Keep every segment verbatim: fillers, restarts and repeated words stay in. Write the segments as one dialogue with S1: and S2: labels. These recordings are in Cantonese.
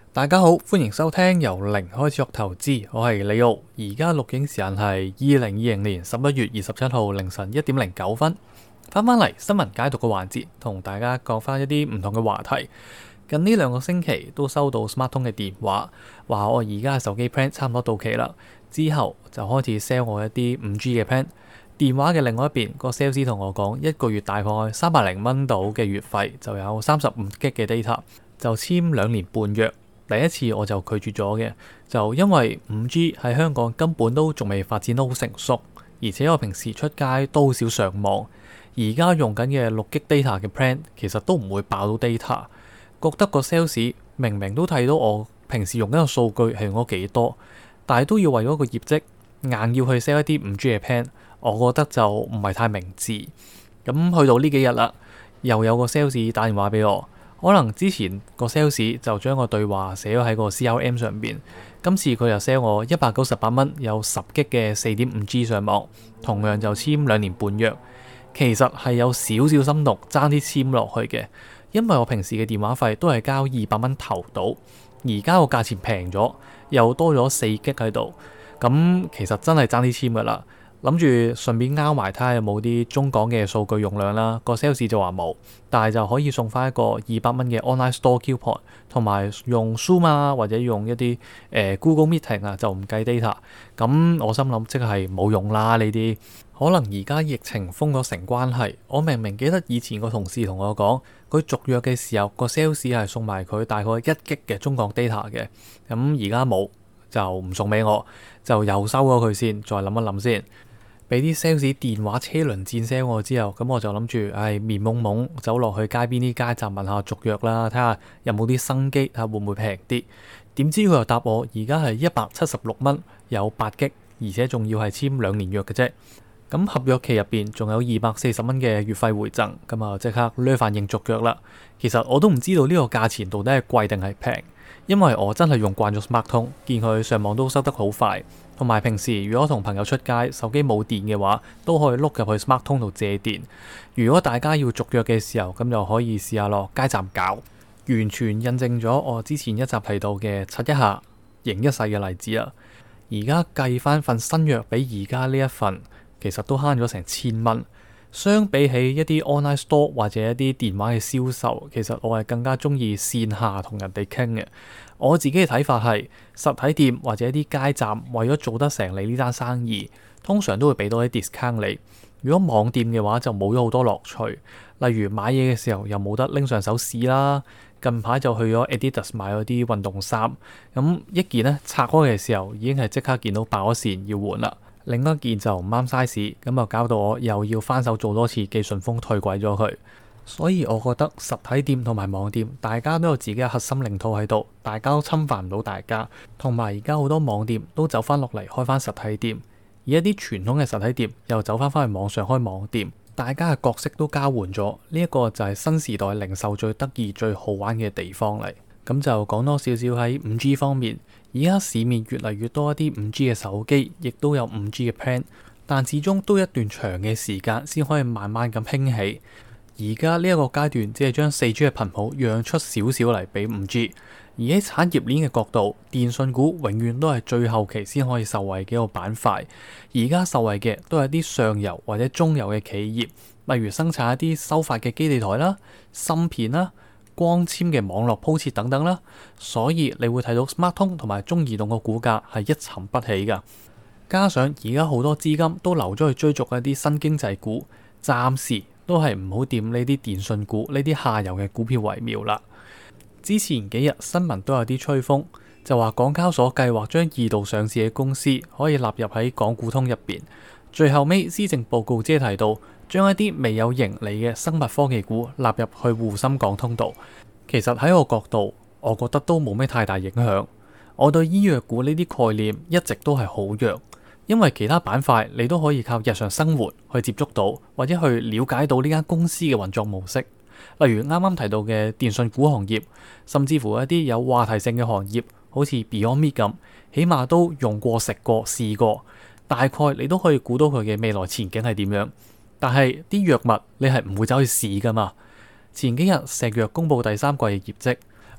S1: 大家好，歡迎收聽由零開始學投資，我係李奧。而家錄影時間係二零二零年十一月二十七號凌晨一點零九分。翻返嚟新聞解讀嘅環節，同大家講翻一啲唔同嘅話題。近呢兩個星期都收到 SmarTone 嘅電話，話我而家嘅手機 plan 差唔多到期啦，之後就開始 sell 我一啲五 G 嘅 plan。電話嘅另外一邊，個 sales 同我講，一個月大概三百零蚊到嘅月費，就有三十五 G 嘅 data，就簽兩年半約。第一次我就拒絕咗嘅，就因為五 G 喺香港根本都仲未發展得好成熟，而且我平時出街都好少上網，而家用緊嘅六 G data 嘅 plan 其實都唔會爆到 data，覺得個 sales 明明都睇到我平時用緊嘅數據係用咗幾多，但係都要為咗個業績硬要去 sell 一啲五 G 嘅 plan，我覺得就唔係太明智。咁去到呢幾日啦，又有個 sales 打電話俾我。可能之前個 sales 就將個對話寫咗喺個 C R M 上邊，今次佢又 sell 我一百九十八蚊有十 G 嘅四點五 G 上網，同樣就簽兩年半約。其實係有少少心動，爭啲簽落去嘅，因為我平時嘅電話費都係交二百蚊頭到，而家個價錢平咗，又多咗四 G 喺度，咁其實真係爭啲簽噶啦。諗住順便拗埋睇下有冇啲中港嘅數據用量啦，個 sales 就話冇，但係就可以送翻一個二百蚊嘅 online store coupon，同埋用 Zoom 啊或者用一啲誒、呃、Google Meeting 啊就唔計 data。咁我心諗即係冇用啦呢啲，可能而家疫情封咗城關係，我明明記得以前個同事同我講，佢續約嘅時候個 sales 係送埋佢大概一 G 嘅中港 data 嘅，咁而家冇就唔送俾我，就又收咗佢先，再諗一諗先。俾啲 sales 電話車輪戰 sell 我之後，咁我就諗住，唉，面懵懵走落去街邊啲街站問下續約啦，睇下有冇啲生機，睇下會唔會平啲。點知佢又答我，而家係一百七十六蚊，有八 G，而且仲要係簽兩年約嘅啫。咁合約期入邊仲有二百四十蚊嘅月費回贈，咁啊即刻呢反應續約啦。其實我都唔知道呢個價錢到底係貴定係平，因為我真係用慣咗 SmarTone，見佢上網都收得好快。同埋平時如果同朋友出街，手機冇電嘅話，都可以碌入去 SmarTone 度借電。如果大家要續約嘅時候，咁就可以試下落街站搞，完全印證咗我之前一集提到嘅刷一下贏一世嘅例子啦。而家計翻份新約比而家呢一份，其實都慳咗成千蚊。相比起一啲 online store 或者一啲電話嘅銷售，其實我係更加中意線下同人哋傾嘅。我自己嘅睇法係，實體店或者一啲街站為咗做得成你呢單生意，通常都會俾多啲 discount 你。如果網店嘅話就冇咗好多樂趣，例如買嘢嘅時候又冇得拎上手試啦。近排就去咗 Adidas 買咗啲運動衫，咁一件呢拆開嘅時候已經係即刻見到爆咗線要換啦。另一件就唔啱 size， 咁啊搞到我又要翻手做多次寄順豐退鬼咗佢。所以我覺得實體店同埋網店，大家都有自己嘅核心領土喺度，大家都侵犯唔到大家。同埋而家好多網店都走翻落嚟開翻實體店，而一啲傳統嘅實體店又走翻翻去網上開網店，大家嘅角色都交換咗。呢一個就係新時代零售最得意、最好玩嘅地方嚟。咁就講多少少喺五 G 方面，而家市面越嚟越多一啲五 G 嘅手機，亦都有五 G 嘅 plan， 但始終都一段長嘅時間先可以慢慢咁興起。而家呢一個階段只係將四 G 嘅頻譜讓出少少嚟俾五 G， 而喺產業鏈嘅角度，電信股永遠都係最後期先可以受惠嘅一個板塊。而家受惠嘅都係啲上游或者中游嘅企業，例如生產一啲收發嘅基地台啦、芯片啦、光纖嘅網絡鋪設等等啦。所以你會睇到 SmarTone 同埋中移動個股價係一沉不起㗎。加上而家好多資金都流咗去追逐一啲新經濟股，暫時都係唔好掂呢啲電信股呢啲下游嘅股票為妙啦。之前幾日新聞都有啲吹風，就話港交所計劃將二度上市嘅公司可以納入喺港股通入邊。最後尾施政報告只係提到將一啲未有盈利嘅生物科技股納入去滬深港通度。其實喺我角度，我覺得都冇咩太大影響。我對醫藥股呢啲概念一直都係好弱。因為其他板塊你都可以靠日常生活去接觸到，或者去了解到呢間公司嘅運作模式。例如啱啱提到嘅電信股行業，甚至乎一啲有話題性嘅行業，好似 Beyond Meat 咁，起碼都用過、食過、試過，大概你都可以估到佢嘅未來前景係點樣。但係啲藥物你係唔會走去試噶嘛。前幾日石藥公布第三季嘅業績，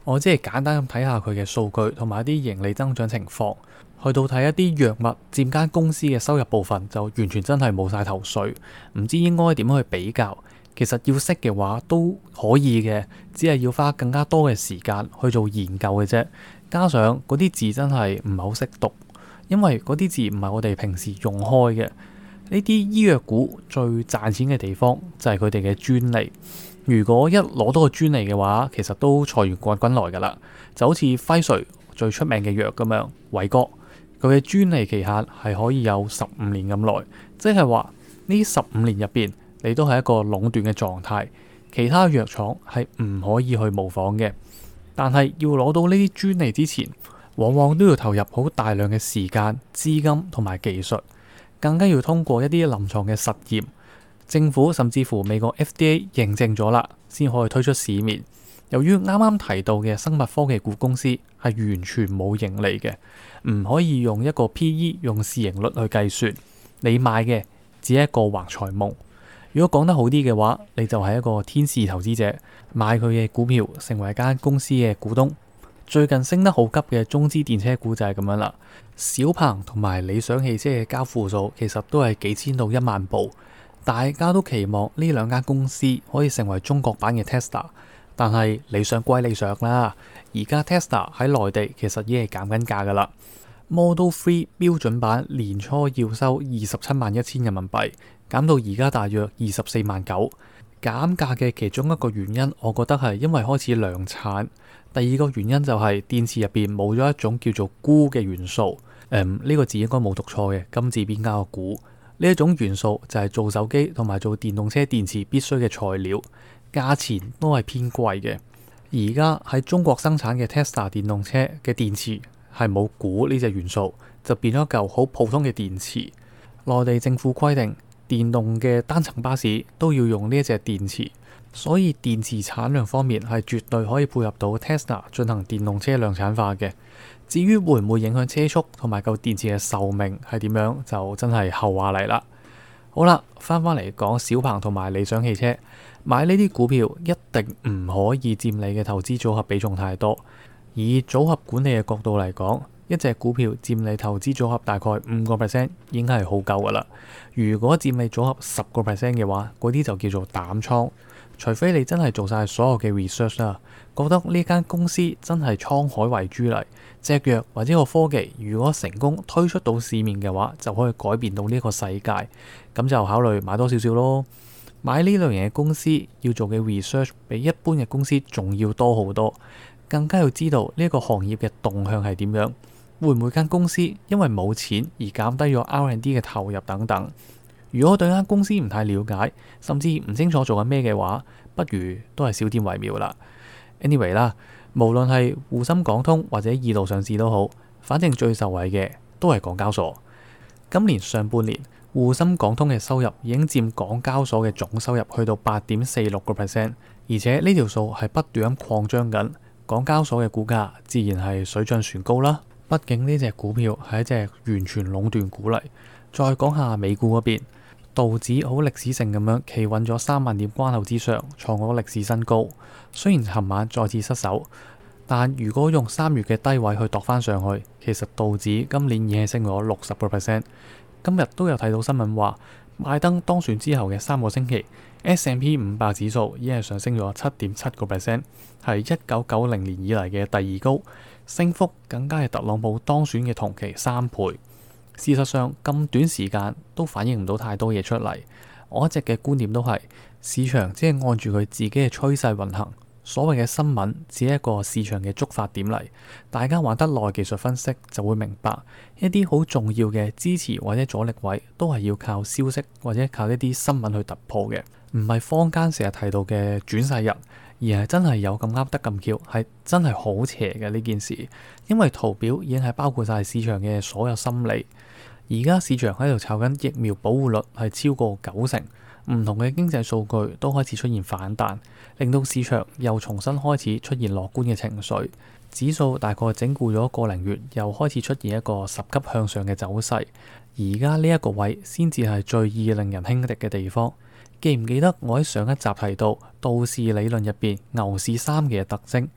S1: 我只係簡單咁睇下佢嘅數據同埋一啲盈利增長情況，去到睇一啲藥物佔間公司嘅收入部分就完全真係冇晒頭緒，唔知應該點樣去比較。其實要識嘅話都可以嘅，只係要花更加多嘅時間去做研究嘅啫。加上嗰啲字真係唔係好識讀，因為嗰啲字唔係我哋平時用開嘅。呢啲醫藥股最賺錢嘅地方就係佢哋嘅專利。如果一攞到個專利嘅話，其實都財源滾滾來噶啦。就好似輝瑞最出名嘅藥咁樣，偉哥佢嘅專利期限係可以有十五年咁耐，即係話呢十五年入邊你都係一個壟斷嘅狀態，其他藥廠係唔可以去模仿嘅。但係要攞到呢啲專利之前，往往都要投入好大量嘅時間、資金同埋技術，更加要通過一啲臨床嘅實驗。政府甚至乎美國 F D A 認證咗啦，先可以推出市面。由於啱啱提到嘅生物科技股公司係完全冇盈利嘅，唔可以用一個 P E 用市盈率去計算，你買嘅只係一個橫財夢。如果講得好啲嘅話，你就係一個天使投資者，買佢嘅股票成為一間公司嘅股東。最近升得好急嘅中資電車股就係咁樣啦。小鵬同埋理想汽車嘅交付數其實都係幾千到一萬部。大家都期望呢兩間公司可以成為中國版嘅 Tesla， 但係理想歸理想啦。而家 Tesla 喺內地其實已經係減緊價噶啦。Model 三標準版年初要收二十七萬一千人民幣，減到而家大約二十四萬九。減價嘅其中一個原因，我覺得係因為開始量產。第二個原因就係電池入邊冇咗一種叫做鈷嘅元素。誒、嗯，呢、這個字應該冇讀錯嘅，金字邊加個鈷。呢一種元素就係做手機同埋做電動車電池必須嘅材料，價錢都係偏貴嘅。而家喺中國生產嘅 Tesla 電動車嘅電池係冇鈷呢隻元素，就變咗嚿好普通嘅電池。內地政府規定電動嘅單層巴士都要用呢一隻電池，所以電池產量方面係絕對可以配合到 Tesla 進行電動車量產化嘅。至於會唔會影響車速同埋嚿電池嘅壽命係點樣，就真係後話嚟啦。好啦，翻返嚟講小鵬同埋理想汽車，買呢啲股票一定唔可以佔你嘅投資組合比重太多。以組合管理嘅角度嚟講，一隻股票佔你投資組合大概五個 percent 已經係好夠噶啦。如果佔你組合十個 percent 嘅話，嗰啲就叫做膽倉。除非你真係做晒所有嘅 research 啦，覺得呢間公司真係滄海遺珠嚟，隻藥或者個科技如果成功推出到市面嘅話，就可以改變到呢個世界，咁就考慮買多少少咯。買呢類型嘅公司要做嘅 research 比一般嘅公司仲要多好多，更加要知道呢個行業嘅動向係點樣，會唔會間公司因為冇錢而減低咗 R and D 嘅投入等等。如果對間公司唔太了解，甚至唔清楚做緊咩嘅話，不如都係少點為妙啦。Anyway 啦，無論係滬深港通或者二度上市都好，反正最受惠嘅都係港交所。今年上半年，滬深港通嘅收入已經佔港交所嘅總收入去到八點四六個 percent， 而且呢條數係不斷咁擴張緊。港交所嘅股價自然係水漲船高啦。畢竟呢隻股票係一隻完全壟斷股嚟。再講下美股嗰邊。道指好歷史性咁樣企穩咗三萬點關口之上，創咗歷史新高。雖然尋晚再次失守，但如果用三月嘅低位去度翻上去，其實道指今年已經升咗六十個 percent。今日都有睇到新聞話，拜登當選之後嘅三個星期 ，S and P 五百指數已經係上升咗七點七個 percent， 係一九九零年以嚟嘅第二高，升幅更加係特朗普當選嘅同期三倍。事實上咁短時間都反映唔到太多嘢出嚟，我一直嘅觀點都係市場只係按住佢自己嘅趨勢運行，所謂嘅新聞只係一個市場嘅觸發點嚟。大家玩得耐技術分析就會明白，一啲好重要嘅支持或者阻力位都係要靠消息或者靠一啲新聞去突破嘅，唔係坊間成日提到嘅轉世人，而係真係有咁啱得咁巧，係真係好邪嘅呢件事。因為圖表已經係包括晒市場嘅所有心理。而家市場喺度炒緊疫苗保護率係超過九成，唔同嘅經濟數據都開始出現反彈，令到市場又重新開始出現樂觀嘅情緒。指數大概整固咗個零月，又開始出現一個十級向上嘅走勢。而家呢一個位先至係最易令人輕敵嘅地方。記唔記得我喺上一集提到道氏理論入邊牛市三嘅特徵？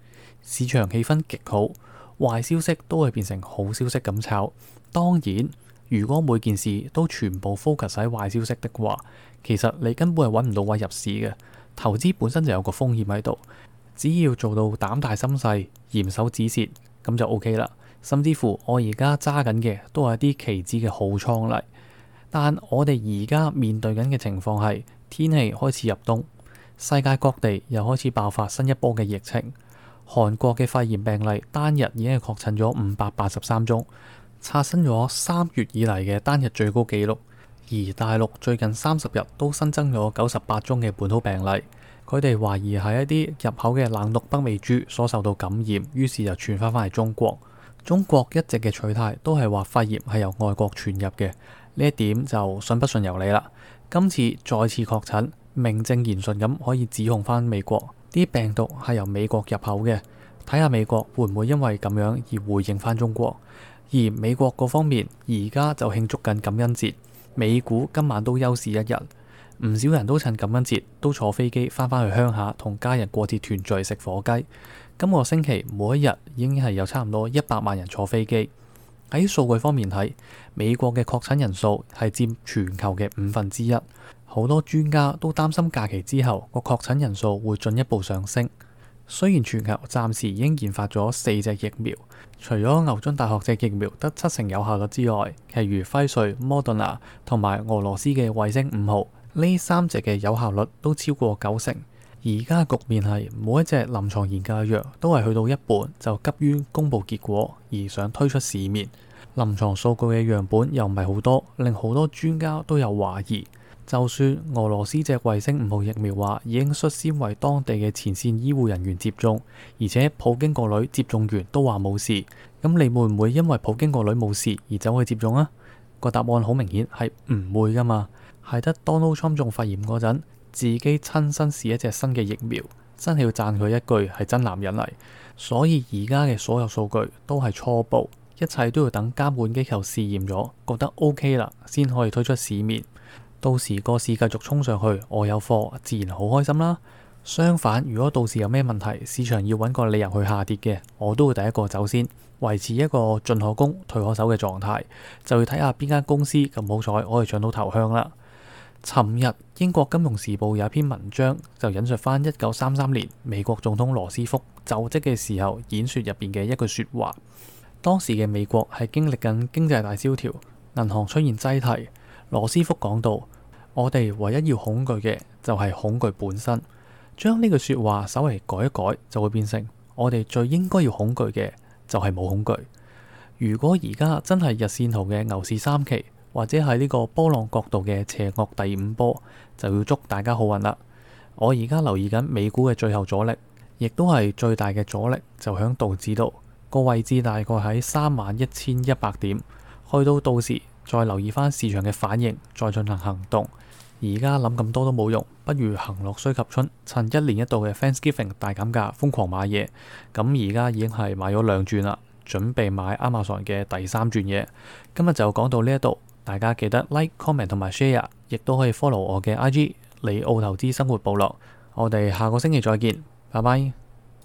S1: 市場氣氛極好，壞消息都會變成好消息咁炒。當然，如果每件事都全部 focus 喺壞消息的話，其實你根本係揾唔到位入市嘅。投資本身就有個風險喺度，只要做到膽大心細、嚴守止蝕，咁就 OK 啦。甚至乎我而家揸緊嘅都係啲期指嘅好倉嚟。但我哋而家面對緊嘅情況係天氣開始入冬，世界各地又開始爆發新一波嘅疫情。韓國嘅肺炎病例單日已經係確診咗五百八十三宗，刷新咗三月以嚟嘅單日最高紀錄。而大陸最近三十日都新增咗九十八宗嘅本土病例，佢哋懷疑係一啲入口嘅冷毒北美豬所受到感染，於是就傳翻返嚟中國。中國一直嘅取態都係話肺炎係由外國傳入嘅。呢一點就信不信由你啦。今次再次確診，名正言順咁可以指控返美國啲病毒係由美國入口嘅。睇下美國會唔會因為咁樣而回應返中國。而美國嗰方面而家就慶祝緊感恩節，美股今晚都休市一日。唔少人都趁感恩節都坐飛機返返去鄉下同家人過節團聚食火雞。今個星期每一日已經係有差唔多一百萬人坐飛機。喺數據方面睇，美國嘅確診人數係佔全球嘅五分之一，好多專家都擔心假期之後個確診人數會進一步上升。雖然全球暫時已經研發咗四隻疫苗，除咗牛津大學隻疫苗得七成有效率之外，其餘輝瑞、Moderna 同埋俄羅斯嘅衛星五號呢三隻嘅有效率都超過九成。而家局面係每一隻臨床研究嘅藥都係去到一半就急於公佈結果而想推出市面，臨床數據嘅樣本又唔係好多，令好多專家都有懷疑。就算俄羅斯隻衛星五號疫苗話已經率先為當地嘅前線醫護人員接種，而且普京個女接種完都話冇事，咁你會唔會因為普京個女冇事而走去接種啊？個答案好明顯係唔會噶嘛，係得 Donald Trump 中肺炎嗰陣，自己親身試一隻新嘅疫苗，真係要讚佢一句係真男人嚟。所以而家嘅所有數據都係初步，一切都要等監管機構試驗咗，覺得 OK 啦，先可以推出市面。到時個市繼續衝上去，我有貨，自然好開心啦。相反，如果到時有咩問題，市場要揾個理由去下跌嘅，我都會第一個走先，維持一個進可攻退可守嘅狀態，就要睇下邊間公司咁好彩可以搶到頭香啦。尋日英國金融時報有一篇文章就引述翻一九三三年美國總統羅斯福就職嘅時候演說入邊嘅一句說話。當時嘅美國係經歷緊經濟大蕭條，銀行出現擠提。羅斯福講到：我哋唯一要恐懼嘅就係恐懼本身。將呢句說話稍微改一改，就會變成我哋最應該要恐懼嘅就係冇恐懼。如果而家真係日線圖嘅牛市三期，或者係呢個波浪角度嘅邪惡第五波，就要祝大家好運啦。我而家留意緊美股嘅最後阻力，亦都係最大嘅阻力，就響道指度個位置，大概喺三萬一千一百點。去到到時再留意翻市場嘅反應，再進行行動。而家諗咁多都冇用，不如行樂須及春，趁一年一度嘅 Thanksgiving 大減價瘋狂買嘢。咁而家已經係買咗兩轉啦，準備買 Amazon 嘅第三轉嘢。今日就講到呢一度，大家記得 like、comment 同埋 share， 亦都可以 follow 我嘅 I G 李奧投資生活部落。我哋下個星期再見，拜拜。